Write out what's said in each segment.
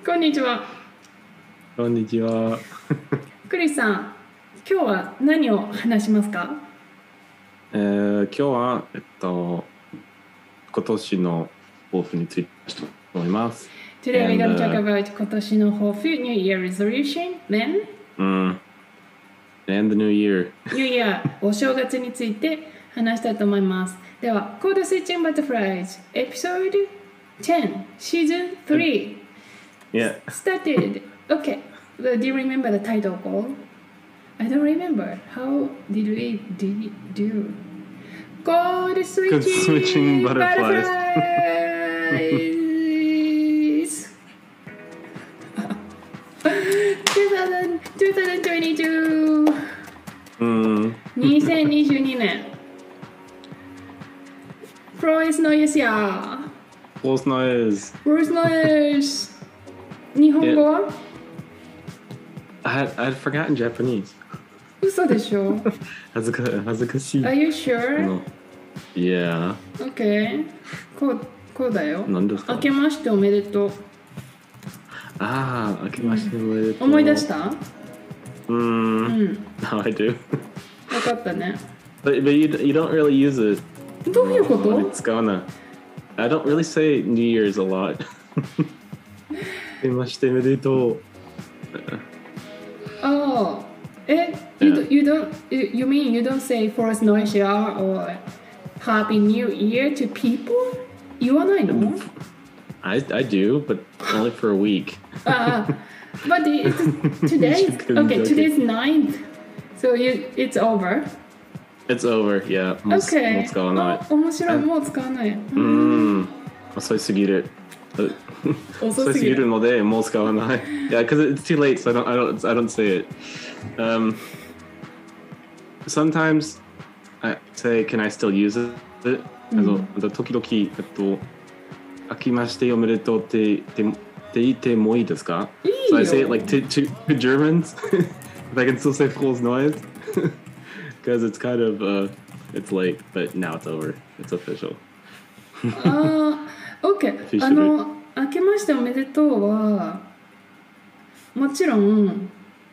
こんにちは。 こんにちは。 クリスさん、今日は何を話しますか？ 今日は、今年の抱負についてと思います。 Today we're going to talk about 今年の抱負 New Year Resolution, then And the New Year. New Year お正月について話したいと思います。では、コードスイッチングバタフライズ Episode 10 Season 3 Yeah. started. Okay, do you remember the title called? I don't remember. How did we do? Code switching butterflies. 2022 2022年 Frost Noise や False noise. Frost Noise 日本語は I'd forgotten Japanese. 嘘でしょ恥ずかしい。 Are you sure? Yeah. Okay こうだよ。 何ですか？ 明けましておめでとう。 明けましておめでとう。 思い出した？ Now I do. 分かったね。 But you don't really use it. どういうこと？ 使わない。I don't really say New Year's a lot. 明けましておめでとう。 Oh, you mean you don't say Forest Noise or Happy New Year to people? 言わないの？ I do, but only for a week. But today's ninth, so it's over. It's over, yeah. もう使わない。 面白い、もう使わない。 遅すぎる。 遅すぎるのでもう使わない。Yeah, because it's too late, so I don't say it. Sometimes I say, can I still use it? 時々明けましておめでとうって言ってもいいですか？ いいよ。 So I say it like to Germans. If I can still say Fool's Noise. Because it's kind of, it's late, but now it's over. It's official. OK。明けましておめでとうは、もちろん、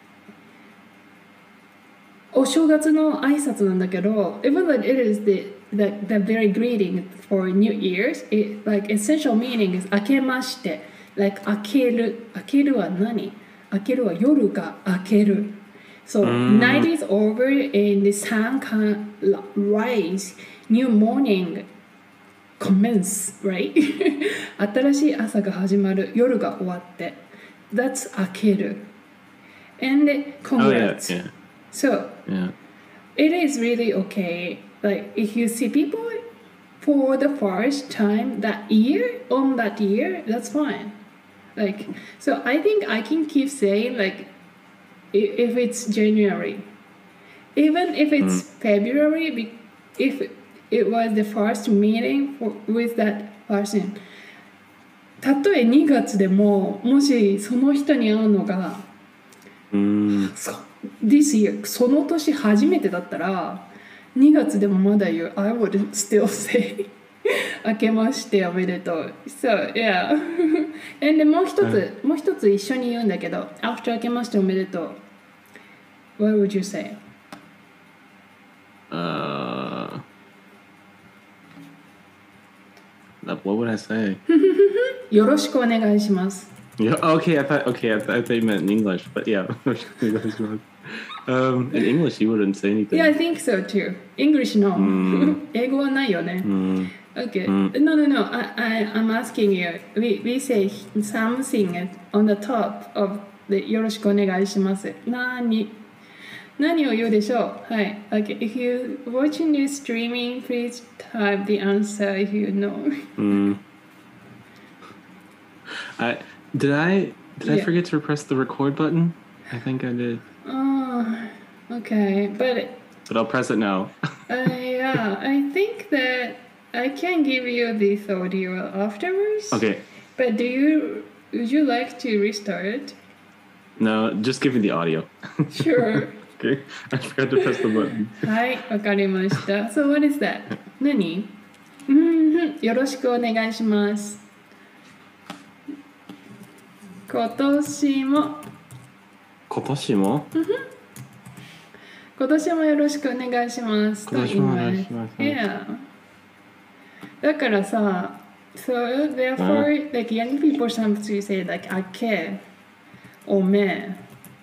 お正月の挨拶なんだけど、even though it is the very greeting for New Year's, like essential meaning is 明けまして、like 明ける。明けるは何？明けるは夜が明ける。So night is over and the sun can rise. New morning commence, right? 新しい朝が始まる。夜が終わって。That's 明ける。And congrats. Yeah. So it is really okay. Like if you see people for the first time that year, that's fine. Like, so I think I can keep saying like, if it's January, even if it's February, if it was the first meeting with that person, たとえ2月でももしその人に会うのが、this year その年初めてだったら2月でもまだ言う I would still say 明けましておめでとう So yeah and もう一つ一緒に言うんだけど After 明けましておめでとう What would you say? What would I say? よろしくお願いします Yeah, okay, I thought you meant in English, but yeah. In English, you wouldn't say anything. Yeah, I think so too. English no. 英語はないよね。Okay. No. I'm asking you. We say something on the top of the よろしくお願いします。何を言うでしょう？はい。Okay. If you watching this streaming, please type the answer if you know. Did I forget to press the record button? I think I did. Oh, okay. But I'll press it now. Yeah, I think that I can give you this audio afterwards. Okay. But would you like to restart? No, just give me the audio. Sure. Okay. I forgot to press the button. はい、わかりました。So what is that? 何？よろしくお願いします。 今年も今年も今年もよろしくお願いしますと今年もお願いします。 Yeah. だからさ、so therefore, like young people sometimes say like 明け、おめ、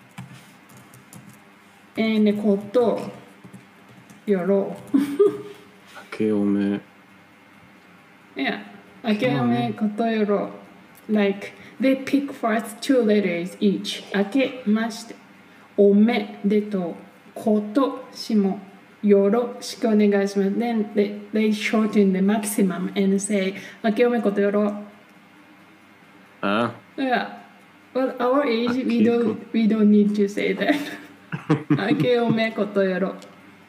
こと、よろ。 明けおめ。 Yeah. 明けおめ、ことよろ。Like they pick first two letters each. 明けまして、おめでと、ことしも。よろしくお願いします。Then they shorten the maximum and say 明けおめことよろ。Yeah. But our age we don't need to say that. 明けおめことよろ。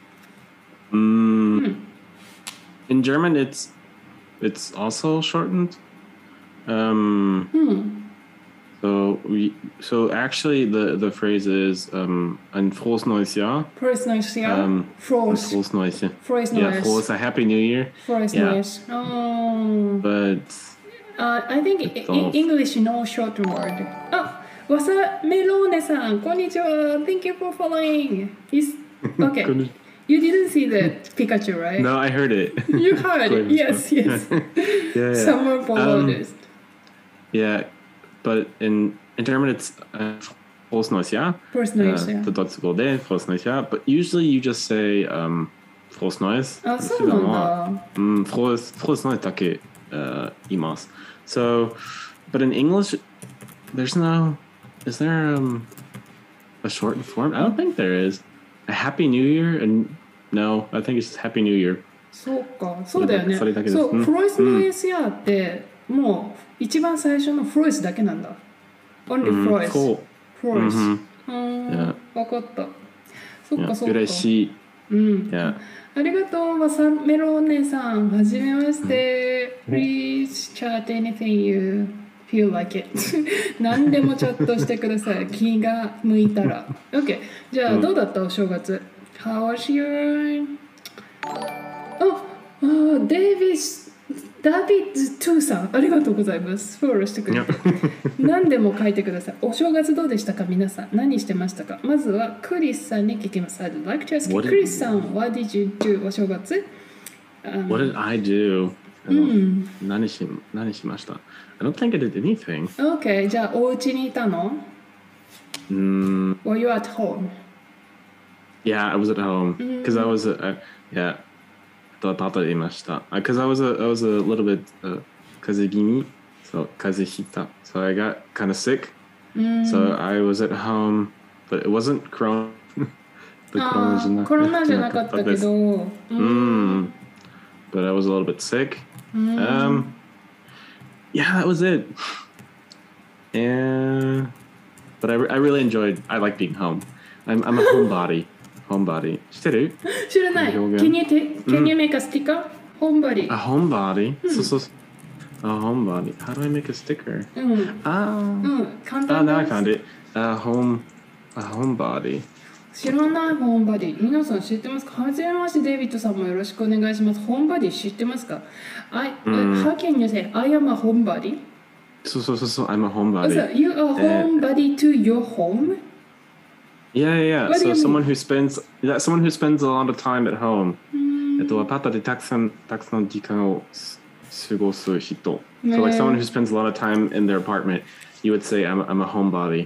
In German, it's also shortened. So actually the phrase is ein frohes neues Jahr. Frohes neues Jahr. Frohes neues Jahr. Frohes Yeah, neues. frohes a happy new year. Frohes Yeah. neues. Oh. But I think in English no short word. あ、わさメローネさん、こんにちは。Thank you for following. Okay. You didn't see the Pikachu, right? No, I heard it. You heard it. Yes. Yeah. Someone followed us. Yeah, but in German it's frohes neues Jahr. Frohes neues Jahr. The Deutsche Gode, frohes neues Jahr. But usually you just say frohes neues. あ、そうなんだ。 frohes neues だけ言います。So, but in English, is there a shortened form? I don't think there is. A Happy New Year? And no, I think it's just Happy New Year. そうか、そうだよね。 それだけです。 そう、フロイスの ASR ってもう一番最初のフロイスだけなんだ。Only フロイス。フロイス。わかった。そっかそっか。 嬉しい。 ありがとう、わさメロお姉さん。はじめまして。Please chat anything you feel like it. 何でもチャットしてください。気が向いたら。OK。じゃあ、どうだったお正月 ?How was your... ダビッズ・トゥーさん、ありがとうございます。フォローしてくれて。何でも書いてください。お正月どうでしたか皆さん。何してましたかまずはクリスさんに聞きます。I'd like to ask クリスさん、What did you do お正月、 What did I do? 何しました I don't think I did anything. Okay, じゃあお家にいたのWere you at home? Yeah, I was at home. Because I was, yeah. と言いました。Because I was a little bit 風邪気味. So 風邪ひいた. So I got kind of sick. So I was at home, but it wasn't Corona. コロナじゃなかったけど。 But I was a little bit sick. Yeah, that was it. But I really enjoyed. I like being home. I'm a homebody. Homebody. 知ってる？ 知らない。Can you make a sticker? Homebody. A homebody? A homebody. How do I make a sticker? Now I found it. A homebody. 知らないホームバディ。皆さん知ってますか？はじめまして、デイビッドさんもよろしくお願いします。ホームバディ知ってますか？ How can you say I am a homebody? そう、I'm a homebody. So you are homebody to your home? Yeah. So someone who spends a lot of time at home. アパートでたくさん時間を過ごす人. So like someone who spends a lot of time in their apartment, you would say I'm a homebody.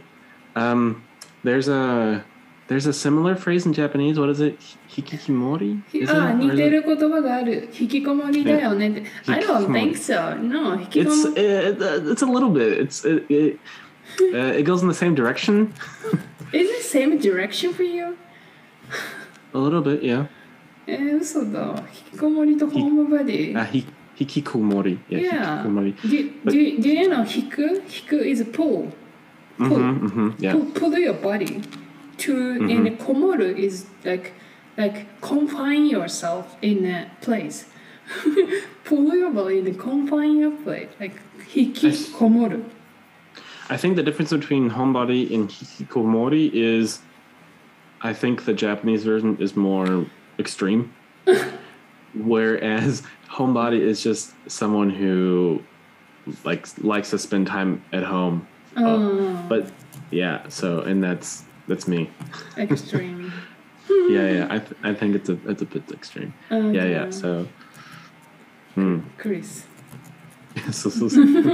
There's a similar phrase in Japanese. What is it? Hikikimori? 似てる言葉がある。引きこもりだよねって。I don't think so. No, 引きこもり。 It's a little bit. It goes in the same direction. Is it same direction for you? A little bit, yeah. 嘘だ。引きこもりとホームバディ。 Hikikomori. Yeah. Hikikomori. Do you know hiku? Hiku is pull. Yeah. Pull your body. And komoru is like confine yourself in a place. Pull your body and confine your place. Like hikikomoru. I think the difference between homebody and hikikomori is, I think the Japanese version is more extreme, whereas homebody is just someone who likes to spend time at home But yeah, so and that's me. Extreme. Yeah, I think it's a bit extreme. Yeah. So, クリス。 そう。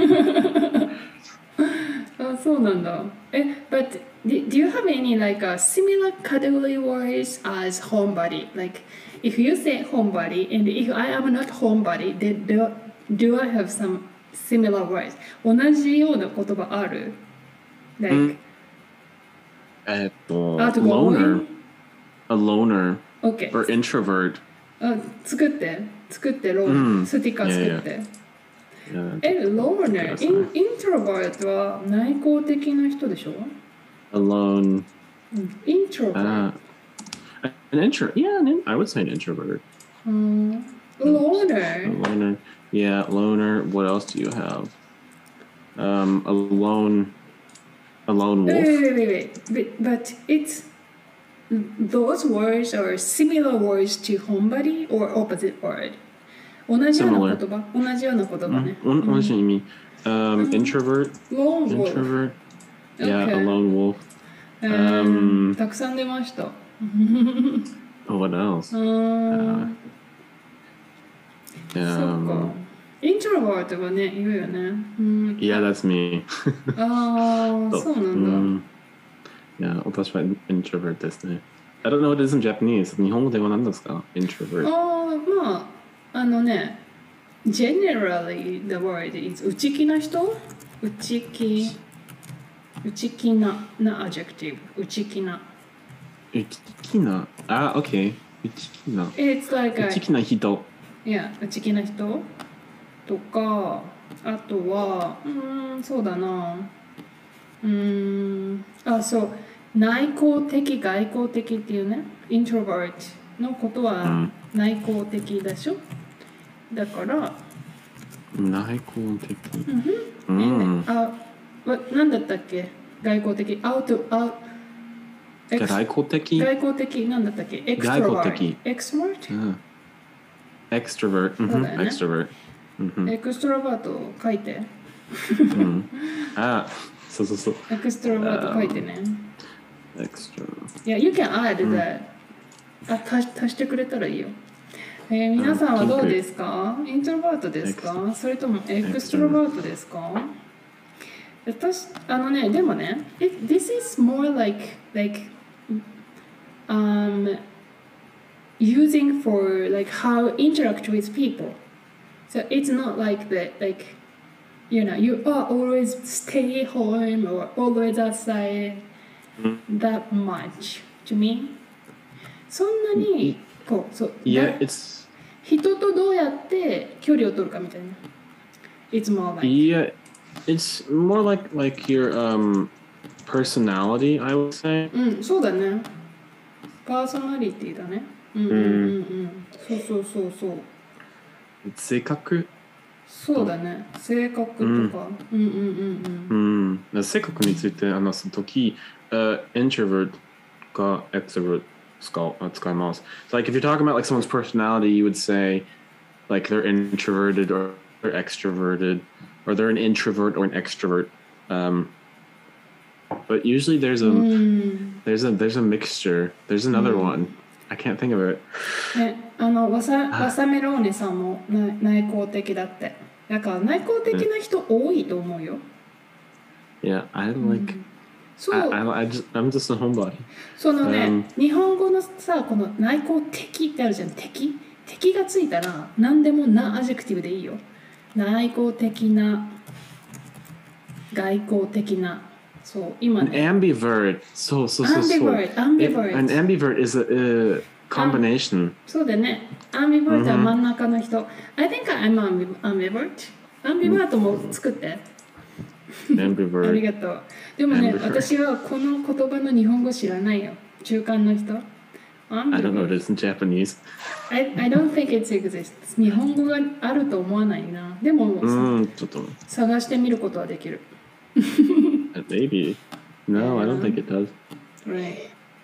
あ、そうなんだ。But do you have any like similar category words as homebody? Like, if you say homebody and if I am not homebody, then do I have some similar words? 同じような言葉ある Like, loner, a loner, Okay. or introvert. あ、作ってロー、スティッカー作って。loner, introvert は内向的な人でしょ Alone. Introvert. I would say an introvert. Loner. A loner. Yeah, loner. What else do you have? A lone wolf. Wait. But those words are similar words to homebody or opposite word? 同じような言葉ね。 同じ意味。Introvert. Lone wolf. Introvert. Yeah, Okay. a lone wolf. たくさん出ました。 What else? そっか。イントロバートはね、言うよね。 Yeah, that's me. そうなんだ。Yeah, 私は introvert ですね。I don't know what it is in Japanese. 日本語では何ですか ?introvert. まあ、generally the word is 内気な人内気な adjective 内気な okay 内気な It's like 内気な人内気な人とかあとはそうだなそう内向的外向的っていうね introvert のことは内向的でしょ、だから内向的なんだったっけ外向的外向的なんだったっけエクストロバートエクストロバートエクストロバート書いてそうエクストロバート書いてねYou can add that 足してくれたらいいよ皆さんはどうですかイントロバートですかそれともエクストロバートですか私でもね This is more like using for like how interact with people so it's not like you always stay home or always outside that much to me そんなに人とどうやって距離を取るかみたいな It's more like it's more like your personality I would say そうだねパーソナリティだねそう性格そうだね性格とか性格について話すときintrovert か extrovert使います So like if you're talking about like someone's personality you would say like they're introverted or extroverted or they're an introvert or an extrovert but usually there's a mixture there's another one I can't think of it わさメローネさんも内向的だってだから内向的な人多いと思うよ Yeah I like I'm just a homebody そのね、日本語のさこの内向的ってあるじゃん敵がついたら何でもなアジェクティブでいいよ内向的な外向的なそう今ね ambivert そう ambivert an ambivert is a combination そうだね ambivert は真ん中の人 I think I'm ambivert ambivert も作って ambivert ありがとうでもね私はこの言葉の日本語知らないよ中間の人 I don't know what it is in Japanese I don't think it exists 日本語があると思わないなでもちょっと探してみることはできる Maybe No, I don't think it does Right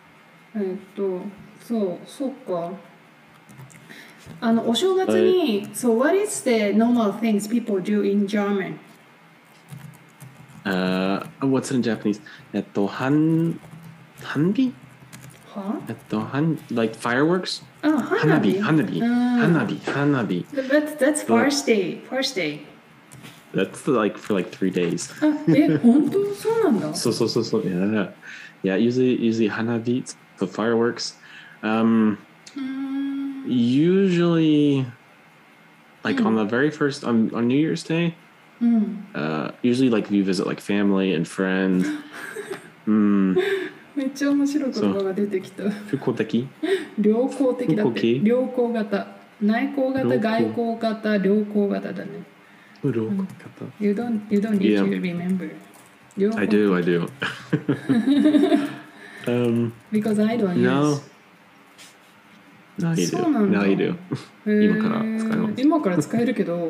そうかお正月にSo what is the normal things people do in German? What's it in Japanese? 花火? は like fireworks? あ、花火。 花火. That's first day. First day. That's like for like 3 days. あ、本当そうなんだ。 So, yeah. Usually hanabi, so fireworks. Usually, like on the very first on New Year's Day. Usually, like you visit like family and friends. めっちゃ面白い言葉が出てきた。 復興的？ 良好的だって。良好型。内向型、 良好外向型、良好型だね。 良好型。 You don't need Yeah. to remember. 良好 I do. Because I don't use. No, you そう do. なんだ。 Now you do. 今から使えます。 今から使えるけど。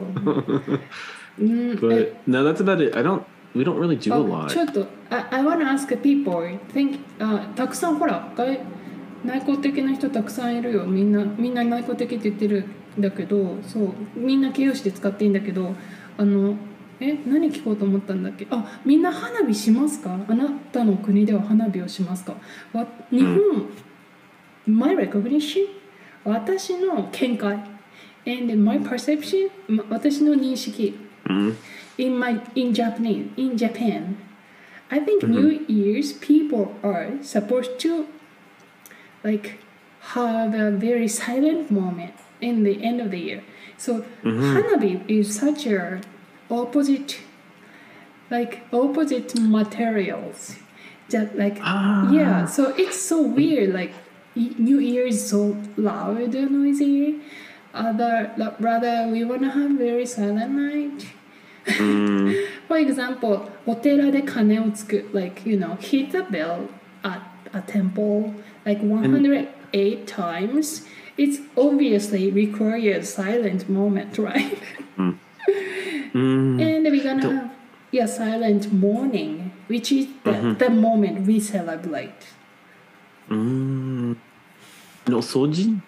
But no, that's about it. We don't really do a lot. ちょっと、I want to ask people. Think, たくさんほら、内向的な人たくさんいるよ。みんな内向的って言ってるんだけど、そう、みんな形容詞で使っていいんだけど、何聞こうと思ったんだっけ？みんな花火しますか？あなたの国では花火をしますか？日本、my recognition? 私の見解 and my perception? 私の認識 in Japan, I think New Year's people are supposed to like have a very silent moment in the end of the year. So hanabi is such a opposite materials. Just like yeah, so it's so weird. Like New Year is so loud and noisy. Rather we wanna have very silent night. For example, お寺で鐘をつく like hit the bell at a temple like 108 times. It's obviously requires silent moment, right? And we're gonna have silent morning, which is the moment we celebrate. No soji?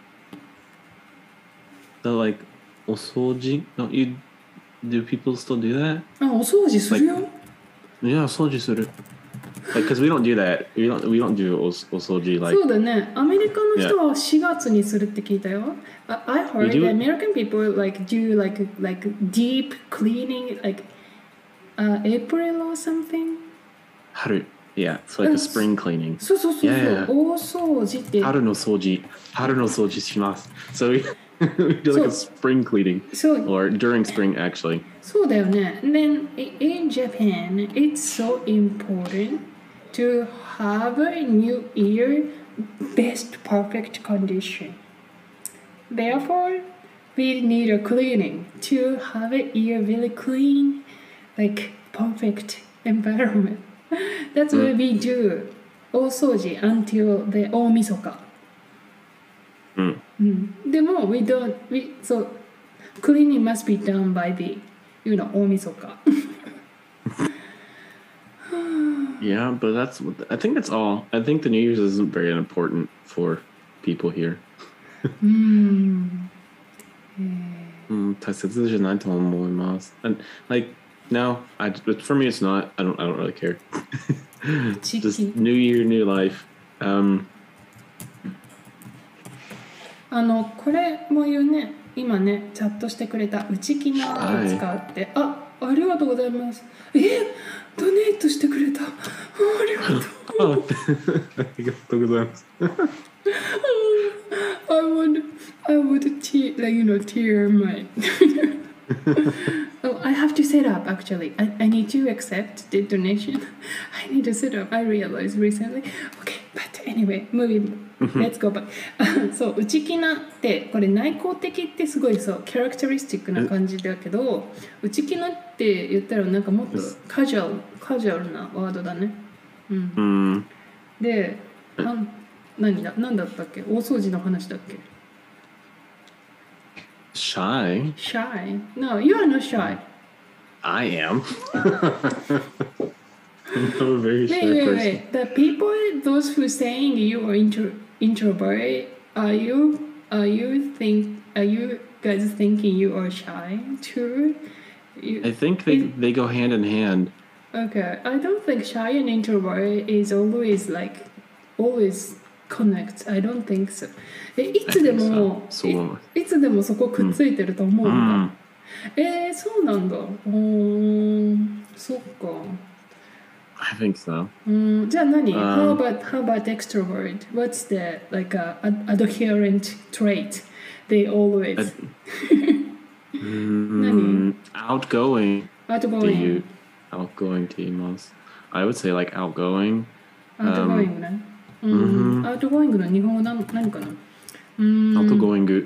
The like osoji? Do people still do that? お掃除するよ。 Yeah, soji suru. Like, because we don't do that. We don't do osoji like. そうだね。アメリカの人は4月にするって聞いたよ。I heard that American people like do like deep cleaning like April or something. Haru. Yeah, it's like a spring cleaning. そう。 Yeah. 大掃除って。 春の掃除します。So we do like a spring cleaning. Or during spring, actually. そうだよね。Then in Japan, it's so important to have a new year best perfect condition. Therefore, we need a cleaning to have a year really clean, like perfect environment. That's what we do. 大掃除 until the 大晦日。でも so cleaning must be done by the 大晦日。 Yeah, but I think that's all. I think the New Year's isn't very important for people here. 大切じゃないと思います。And like no, for me it's not. I don't really care. Just new year, new life. これも言うね。今ねチャットしてくれた内気なを使うって、ありがとうございます。ドネートしてくれた。ありがとう。 ありがとうございます。 I would tear my. Oh, I have to set up actually. I need to accept the donation. I need to set up. I realized recently. Okay, but anyway, moving. Let's go back. そう、内気なってこれ内向的ってすごいそうキャラクタリスティックな感じだけど、内気なって言ったらなんかもっとカジュアルなワードだね。で、なんだったっけ？大掃除の話だっけ ？Shy? Shy? No, you are not shy. I am. I'm a very shy person. Wait. The people, those who saying you are introvert, are you guys thinking you are shy too? I think they go hand in hand. Okay, I don't think shy and introvert is always connect. I don't think so. い I つで think so. もそう思います。 いつでもそこくっついてると思うんだ。そうなんだ。そっか。 I think so. じゃあ何 how about extrovert? What's the like adherent trait they always? 何 Outgoing っていう outgoing outgoing って言います。I would say like outgoing. outgoing ね。outgoing の日本語何かな outgoing.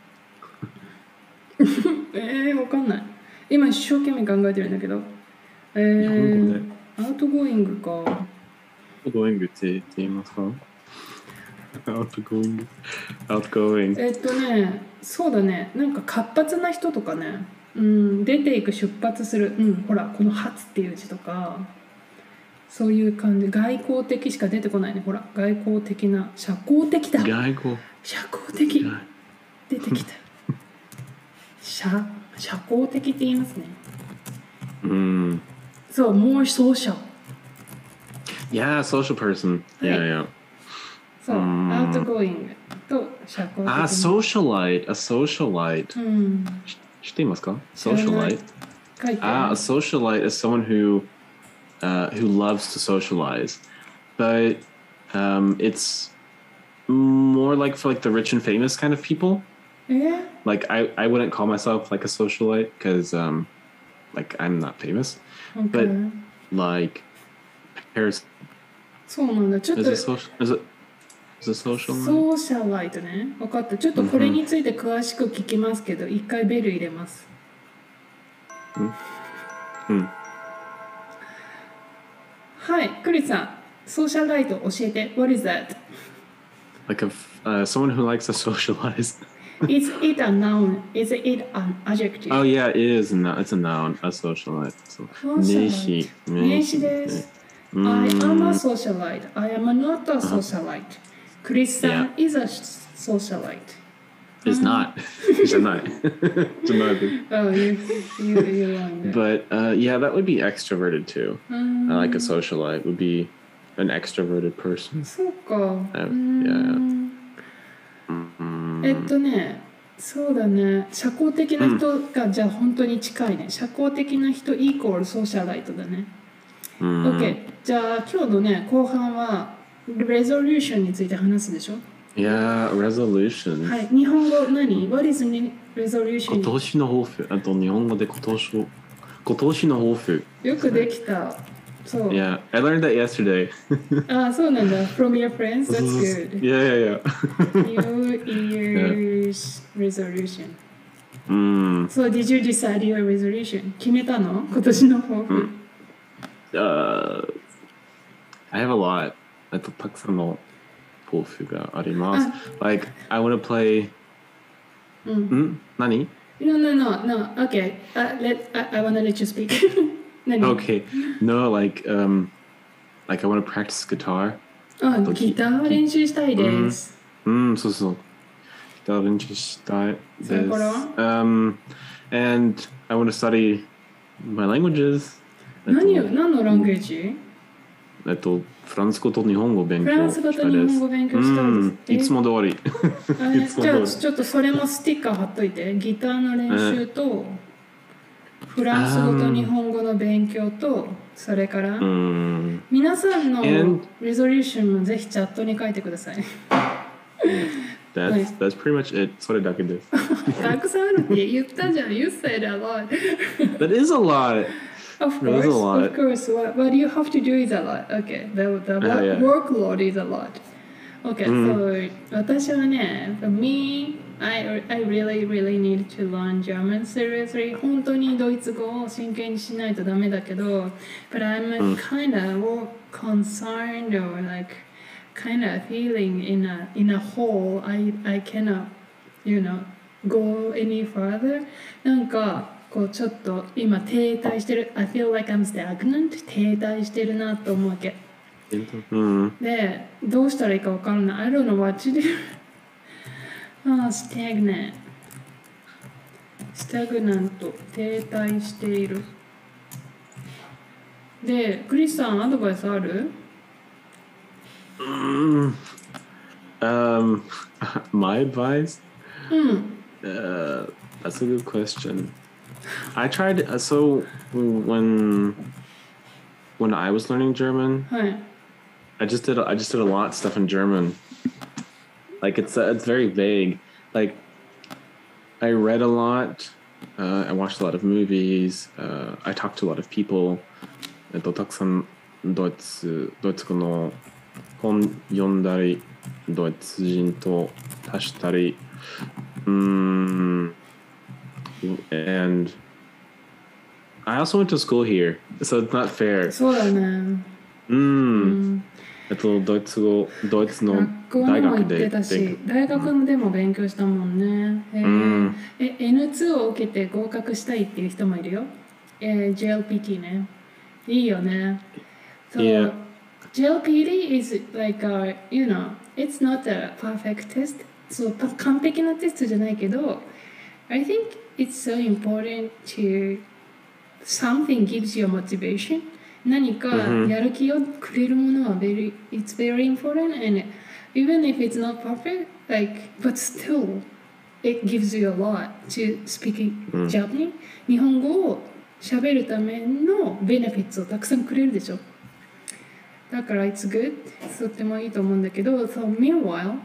わかんない。今一生懸命考えてるんだけど。 日本語でアウトゴーイングか。 outgoing って言いますか outgoing. outgoing. そうだね。なんか活発な人とかね。出ていく出発する。ほら、この発っていう字とか。そういう感じ。外交的しか出てこないね。ほら、外交的な。社交的だ。 外交。 社交的。出てきた。社交的って言いますね。そう、more social. Yeah, social person. Yeah, yeah. そう、outgoing と社交的。 socialite. A socialite. 知っていますか socialite? 書いて a socialite is someone who loves to socialize. But it's more like for like the rich and famous kind of people. Like I wouldn't call myself like a socialite because like I'm not famous. But like Paris そうなんだ。ちょっと is it social? ソーシャライトね。分かった。ちょっとこれについて詳しく聞きますけど、一回ベル入れます。はい、クリスさん、ソーシャライト教えて。What is that? Like someone who likes to socialize. Is it a noun? Is it an adjective? Oh yeah, it is. It's a noun. A socialite. So, 名詞です。I am a socialite. I am not a socialite. クリスさん is a socialite. It's not. It's not. It's not. Oh, you're wrong. But yeah, that would be extroverted too. Like a socialite would be an extroverted person. そうか。 Yeah. そうだね。社交的な人がじゃあ本当に近いね。社交的な人イコールソーシャライトだね。OK。じゃあ今日のね、後半はレゾリューションについて話すでしょ Yeah, resolution. はい。日本語何 ?What is resolution? 今年の抱負。あと日本語で今年の抱負。 よくできた。そう。 Yeah, I learned that yesterday. そうなんだ。From your friends? That's good. Yeah. New Year's resolution. So did you decide your resolution? 決めたの今年の抱負。 I have a lot. たくさんの抱負があります。Like, I want to play... 何 No. Okay. I want to let you speak. Okay. No, like I want to practice guitar. ギター練習したいです。 そうそう。ギター練習したいです。 それから And I want to study my languages. 何のランゲージフランス語と日本語勉強したいです。 フランス語と日本語勉強したいです。 いつも通り。 じゃあちょっとそれもステッカー貼っといて。ギターの練習と、フランス語と日本語の勉強と、それから、皆さんのレゾリューションもぜひチャットに書いてください。 That's pretty much it. それだけです。 たくさんあるって言ったじゃん。You said a lot. That is a lot. Of course. What you have to do is a lot. Okay. The workload is a lot. Okay. So 私はね、for me, I really need to learn German seriously. 本当にドイツ語を真剣にしないとダメだけど、but I'm kind of concerned or like kind of feeling in a hole. I cannot, go any further. なんかこうちょっと今停滞してる I feel like I'm stagnant 停滞してるなと思うわけでどうしたらいいか分からない I don't know what to do stagnant 停滞しているで、クリスさん、アドバイスある？ Mm, um, my advice? うん。 That's a good question. I tried so when I was learning German, はい。 I just did a lot of stuff in German. Like it's very vague. Like I read a lot. I watched a lot of movies. I talked to a lot of people. たくさんドイツ語の本読んだり、ドイツ人と足したり、and I also went to school here, so it's not fair. そうだね。 ドイツの学校にも行ってたし、大学でも勉強したもんね。N2 を受けて合格したいっていう人もいるよ。JLPT ね。いいよね。So, Yeah. JLPT is like it's not a perfect test. そう、完璧なテストじゃないけど、I think it's so important to something gives you motivation. 何かやる気をくれるものはit's very important, and even if it's not perfect, but still it gives you a lot to speak Japanese. 日本語を喋るためのベネフィッツをたくさんくれるでしょ。だから it's good. とってもいいと思うんだけど、so meanwhile,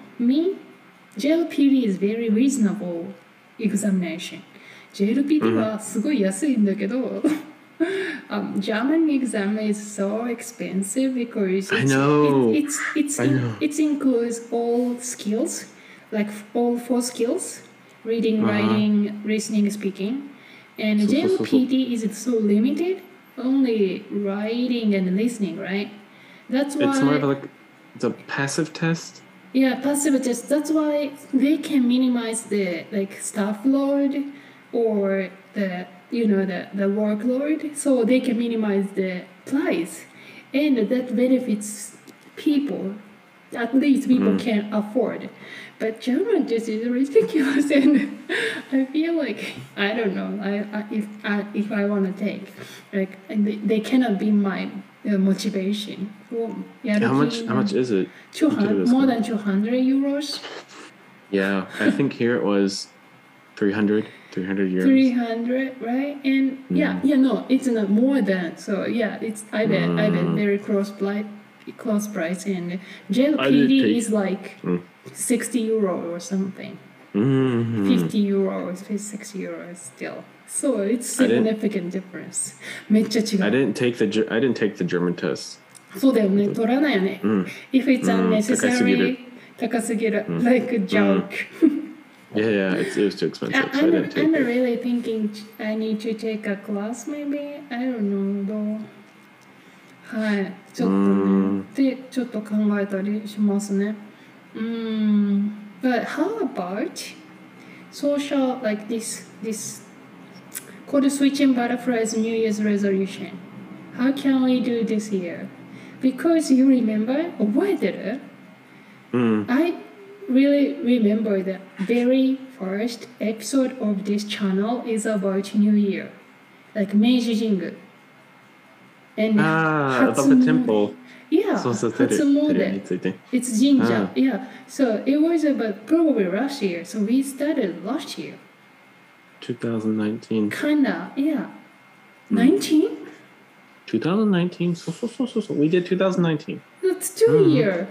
JLPT is very reasonable examination. JLPT はすごい安いんだけど、German exam is so expensive because I know. it includes all skills, like all 4 skills: reading, writing, listening, speaking. And JLPT is so limited, only writing and listening, right? That's why It's more of like it's a passive test. Yeah, passive test. That's why they can minimize the staff load or the workload, so they can minimize the price, and that benefits people. At least people can afford. But German just is ridiculous, and I feel like I don't know. If I want to take they cannot be my motivation. How much is it? 200, more than 200 euros. Yeah, I think here it was 300 euros. 300, right? And no, it's not more than. So yeah, I bet very close price, and JLPD is like 60 euro or something. 50 euros, 60 euros still. So it's significant difference. めっちゃ違う。 I didn't take the German test. そうだよね、取らないよね。If it's unnecessary, 高すぎる。Like a joke. Yeah, it was too expensive, so I didn't take I'm it. really thinking I need to take a class maybe. I don't know though. はい、ちょっとね。で、ちょっと考えたりしますね。But how about social like this called switching butterflies New Year's resolution? How can we do this year? Because you remember, 覚えてる？I really remember the very first episode of this channel is about New Year, like Meiji Jingu. And About the temple. Yeah, そうそう、 Hatsumode. テレについて。 It's Jinja. Yeah. So it was about probably last year. So we started last year. 2019. Kinda, yeah. 19? 2019? So. We did 2019. That's 2 years.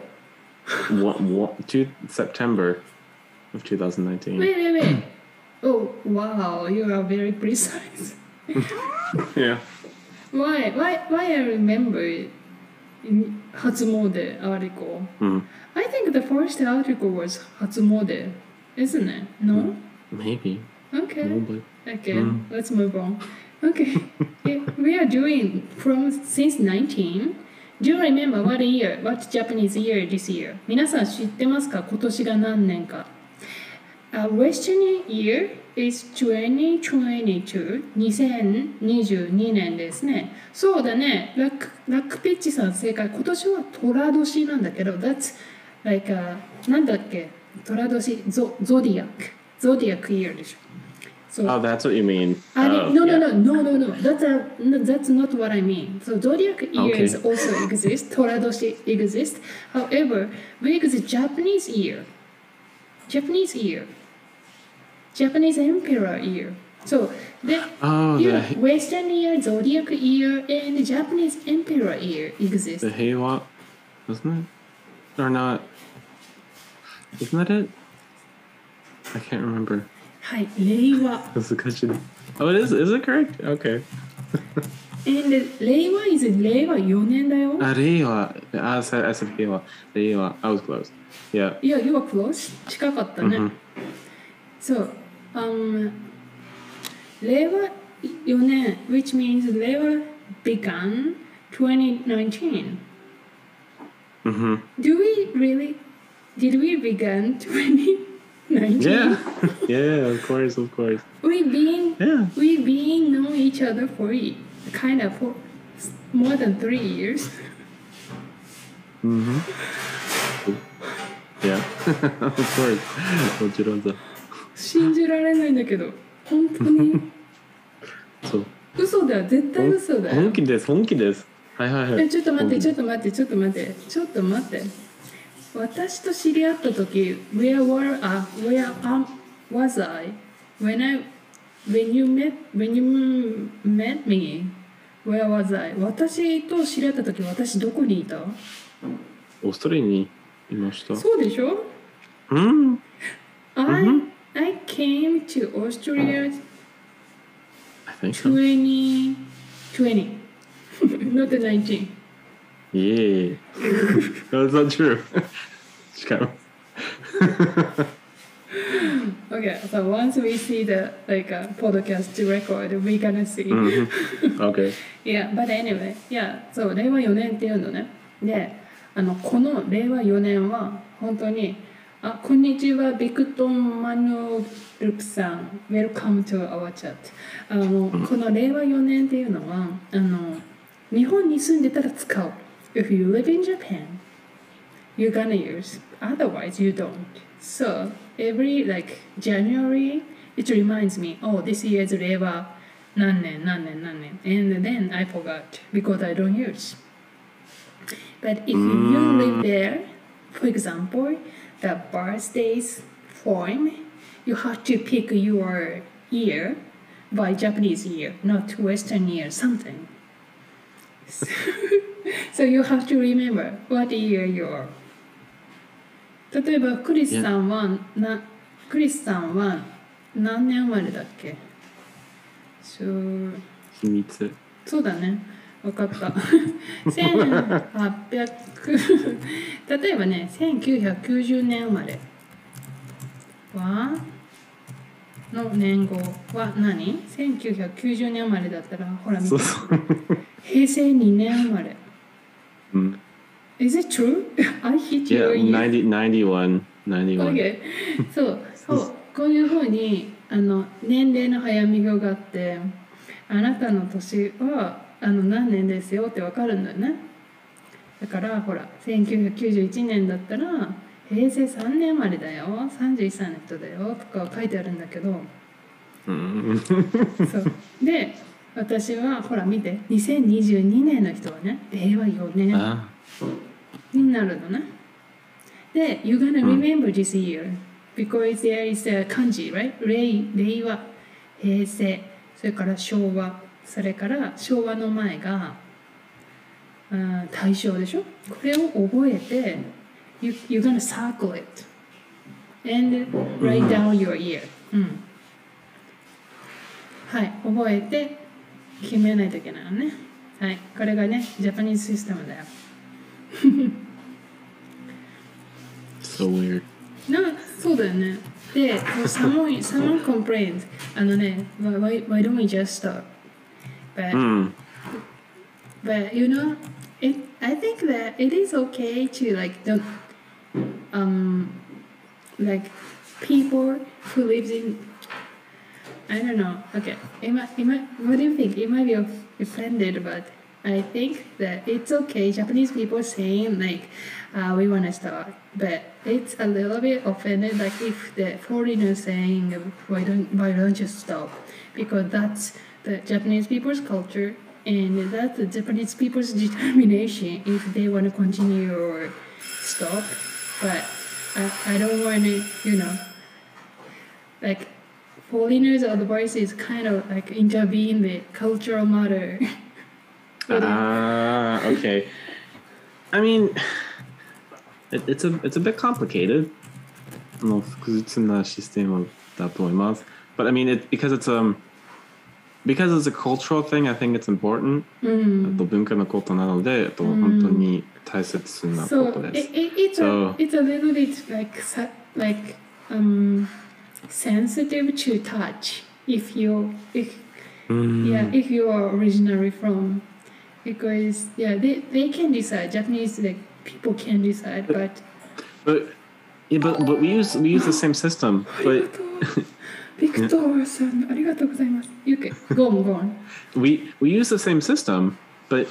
September of 2019. Wait. Oh, wow. You are very precise. Yeah. Why I remember in Hatsumode article? I think the first article was Hatsumode, isn't it? No? Maybe. Okay. Probably. Okay, let's move on. Okay. We are doing since 19. Do you remember what Japanese year this year? 皆さん知ってますか？今年が何年か。Western year is 2022. 2022年ですね。そうだね。ラックペッチさん正解。今年は寅年なんだけど、that's like なんだっけ？寅年ゾディアックイヤーでしょ。 So Oh, that's what you mean. no, yeah. no. That's not what I mean. So zodiac years Okay. also exist. Toradoshi exists. However, we exist Japanese year, Japanese emperor year. So the Oh, Western year, zodiac year, and Japanese emperor year exist. the Heiwa, wasn't it? Or not? Isn't that it? I can't remember. はい、令和。 That's the question. Oh, it is. Is it correct? Okay. And 令和 is 令和4年だよ。 Reiwa. I said Heiwa. Reiwa. I was close. Yeah. Yeah, you were close. 近かったね。So, 令和4年 which means 令和 began 2019. Did we begin 2019? Yeah. Yeah, of course. We Yeah. being know each other for more than 3 years. Yeah. Of course. もちろんさ。 信じられないんだけど、本当にそう。 嘘だよ、絶対嘘だよ。 本気です。はいはいはい。 ちょっと待って。私と知り合った時 where was I when you met me? Where was I? 私と知り合った時私どこにいた？ オーストラリアにいました。 そうでしょ？I came to Australia I think so. 2020 not 19. Yeah. That's not true. しかも。 Okay, so once we see the podcast record, we gonna see. Okay. Yeah, but anyway, yeah, そう令和4年っていうのね。で、この令和4年は本当にこんにちはビクトンマヌルプさん Welcome to our chat. この令和4年っていうのは日本に住んでたら使う。If you live in Japan, you're gonna use. Otherwise, you don't. So every January, it reminds me, oh, this year is 令和何年 and then I forgot because I don't use. But if you live there, for example, the birthdays form, you have to pick your year by Japanese year, not Western year, something. So you have to remember what year you are. 例えばクリスさんは何年生まれだっけ？ 秘密。 そうだね。分かった。1800例えばね、1990年生まれの年号は何？ 1990年生まれだったらほら見て。平成2年生まれ。Is it true? I hit your year. Yeah, 91. Okay. そうこういうふうに年齢の早見表があってあなたの年は何年ですよって分かるんだよね。だからほら1991年だったら平成3年生まれだよ31歳の人だよとか書いてあるんだけどそうで私はほら見て2022年の人はね令和4年になるのね。で You're gonna remember this year because there is a 漢字 right? 令和平成それから昭和それから昭和の前が大正でしょ。これを覚えて You're gonna circle it and write down your year、はい覚えて決めないといけないのね。はいこれがねジャパニーズシステムだよ。 So weird. そうだよね。で、someone complained why don't we just stop? But you know, I think that it is okay to people who lives in I don't know. Okay, what do you think? You might be offended, but I think that it's okay. Japanese people saying like, we want to start, but it's a little bit offended. Like if the foreigner saying, why don't you stop? Because that's the Japanese people's culture, and that's the Japanese people's determination if they want to continue or stop. But I don't want to, like foreigners' advice is kind of like intervene the cultural matter. Okay. I mean, it's a bit complicated. 複雑なシステムだと思います。But I mean, because it's a cultural thing, I think it's important. あと文化のことなので、本当に大切なことです。 So it's a little bit like sensitive to touch if you are originally from, because they can decide. Japanese like people can decide, but we use the same system. But Victor さんありがとうございます。You can go on. We use the same system, but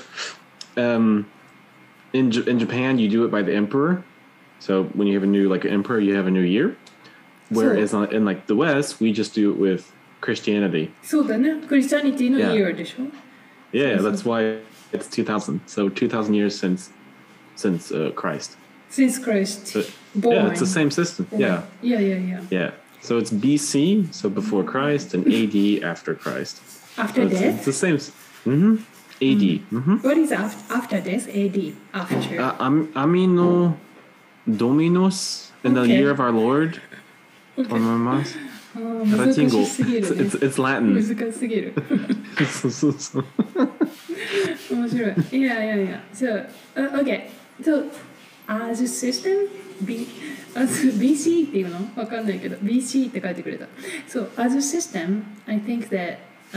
in Japan you do it by the emperor. So when you have a new emperor, you have a new year. Whereas in like the West, we just do it with Christianity. そうだね。クリスチャニティの year でしょ。 Yeah, that's why it's 2000. So 2000 years since Christ. Since Christ born. Yeah, it's the same system. Yeah. Yeah. So it's BC, so before Christ, and AD after Christ. After death? It's the same. AD. What is after death? AD. After. Amino Dominus in the year of our Lord. Okay. 思います。 難しすぎるね。 It's Latin. 難しすぎる。 そう。 面白い。Yeah. So, okay. So, as a system, BC っていうのわかんないけど BC って書いてくれた。So, as a system, I think that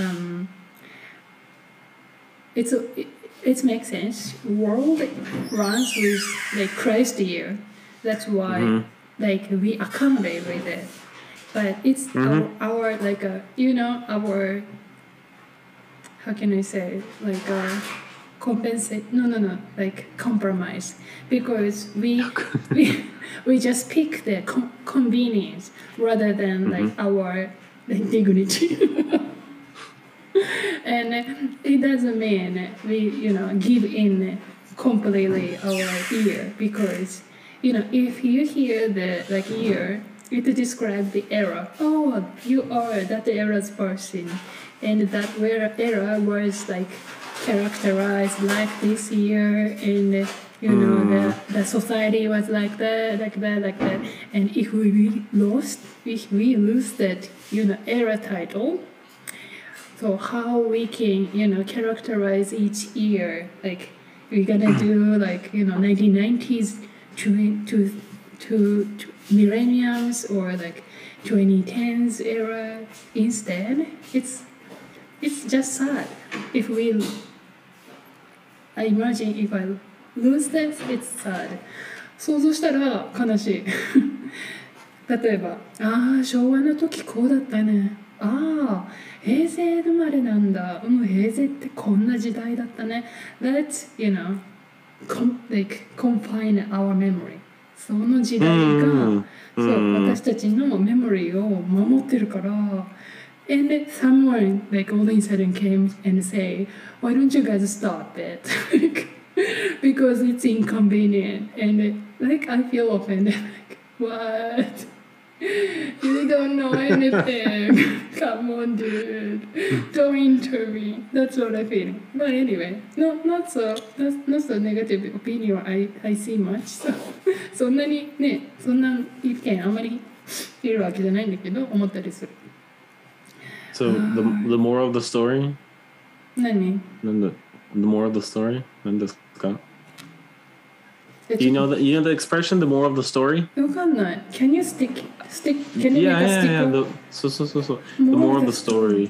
it makes sense. World runs with like Christ year. That's why like we accommodate with it. But it's our like our how can I say like compensate like compromise, because we just pick the convenience rather than like our dignity. And it doesn't mean we give in completely our ear, because if you hear the like year, it describes the era. Oh, you are that era's person, and that era was like characterized like this year, and the society was like that. And if we lose that era title, so how we can characterize each year, like we're gonna do like 1990s to millenniums or like 2010s era instead. It's just sad. I imagine if I lose this, it's sad. 想像したら悲しい。例えば、昭和の時こうだったね。平成生まれなんだ。平成ってこんな時代だったね。Let's confine our memory. その時代が、私たちのメモリーを守ってるから。And someone like all of a sudden came and say, why don't you guys stop it? Because it's inconvenient. And like I feel offended. Like, what? You don't know anything. Come on, dude. Don't intervene. That's what I feel. But anyway, not so negative opinion I see much. So そんなにね、そんな意見あまりいるわけじゃないんだけど、思ったりする。 So the moral of the story? 何？ The moral of the story? 何ですか? You know the expression, the moral of the story? わかんない。Can you stick? Can you make a sticker? そう。The moral of the story.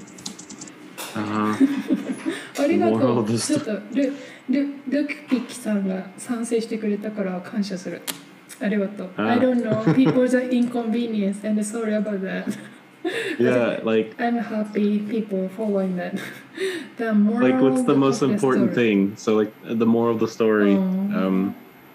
ありがとう。ちょっとルクピキさんが賛成してくれたから感謝する。ありがとう。I don't know. People's inconvenience and sorry about that. Yeah, like I'm happy people following that. The moral Like, what's the of most important story. thing? So, like, the moral of the story. Oh.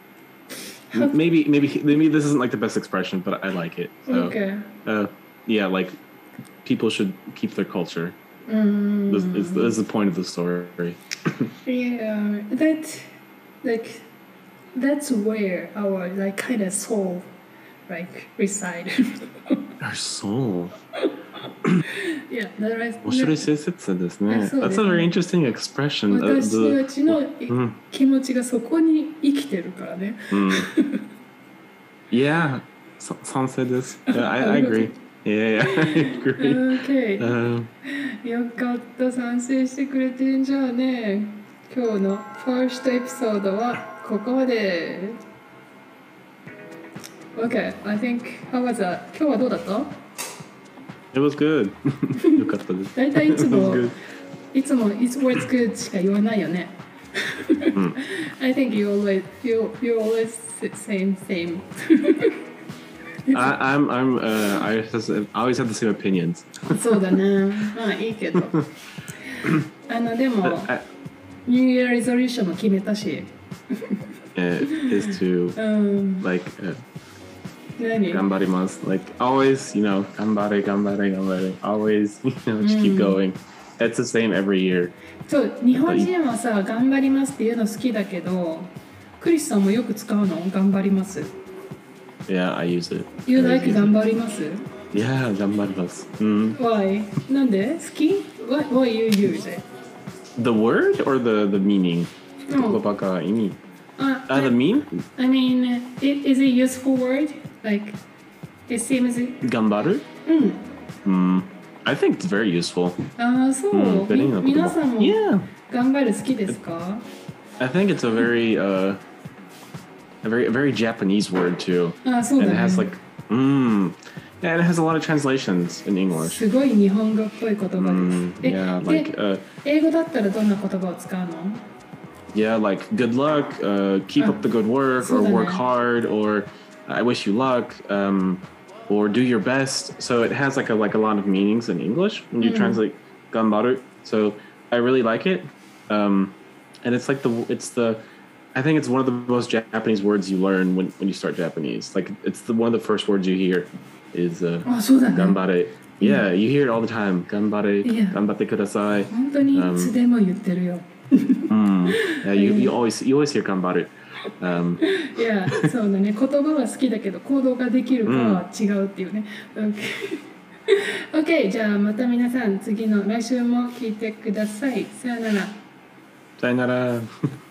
Maybe this isn't like the best expression, but I like it. So, Okay. yeah, like people should keep their culture. This is the point of the story. Yeah, like that's where our like kind of soul like reside. Our soul. Yeah, that is. 面白い施設ですね。 そうです That's ね。 a very interesting expression. 私たちの Mm. 気持ちがそこに生きてるからね。 Yeah, 賛成です。Yeah, I agree. Yeah, I agree. Okay. よかった、賛成してくれてんじゃあね。今日のファーストエピソードはここまで。Okay, I think how was that? 今日はどうだった？ It was good. よかったです。 だいたいいつ It was も good. いつも It's words good しか言わないよね。I think you always same. I always have the same opinions. そうだね。まあいいけど。でも New Year resolution も決めたし。 Is to like 何？ ganbarimasu. Like always, you know, ganbare. Always, you know, just keep going. It's the same every year. そう日本人はさ頑張りますっていうの好きだけど、クリスさんもよく使うの頑張ります。 Yeah, I use it. You like 頑張ります？ Yeah, ganbarimasu. Why? なんで？好き？ Why you use it? The word or the meaning? No. The I mean? mean, is it useful word? Like, it seems. Gambaru? I think it's very useful. そう。皆さんも Yeah. 頑張る好きですか？ I think it's a very very Japanese word too. そうだ And ね。 it has like yeah, and it has a lot of translations in English. すごい日本語っぽい言葉です。 Yeah, like 英語だったらどんな言葉を使うの？ yeah, like good luck, keep up the good work, or work hard, or I wish you luck, or do your best. So it has like a lot of meanings in English when you translate ganbaru. So I really like it. And it's like I think it's one of the most Japanese words you learn when you start Japanese. Like it's one of the first words you hear is そうだね。 ganbare. Yeah, you hear it all the time. Ganbare, Yeah. ganbatte kudasai. 本当にいつでも言ってるよ。 Yeah, you always hear ganbare. いや、そうだね。言葉は好きだけど行動ができるかは違うっていうね。OK、じゃあまた皆さん次の来週も聞いてください。さよなら。 さよなら。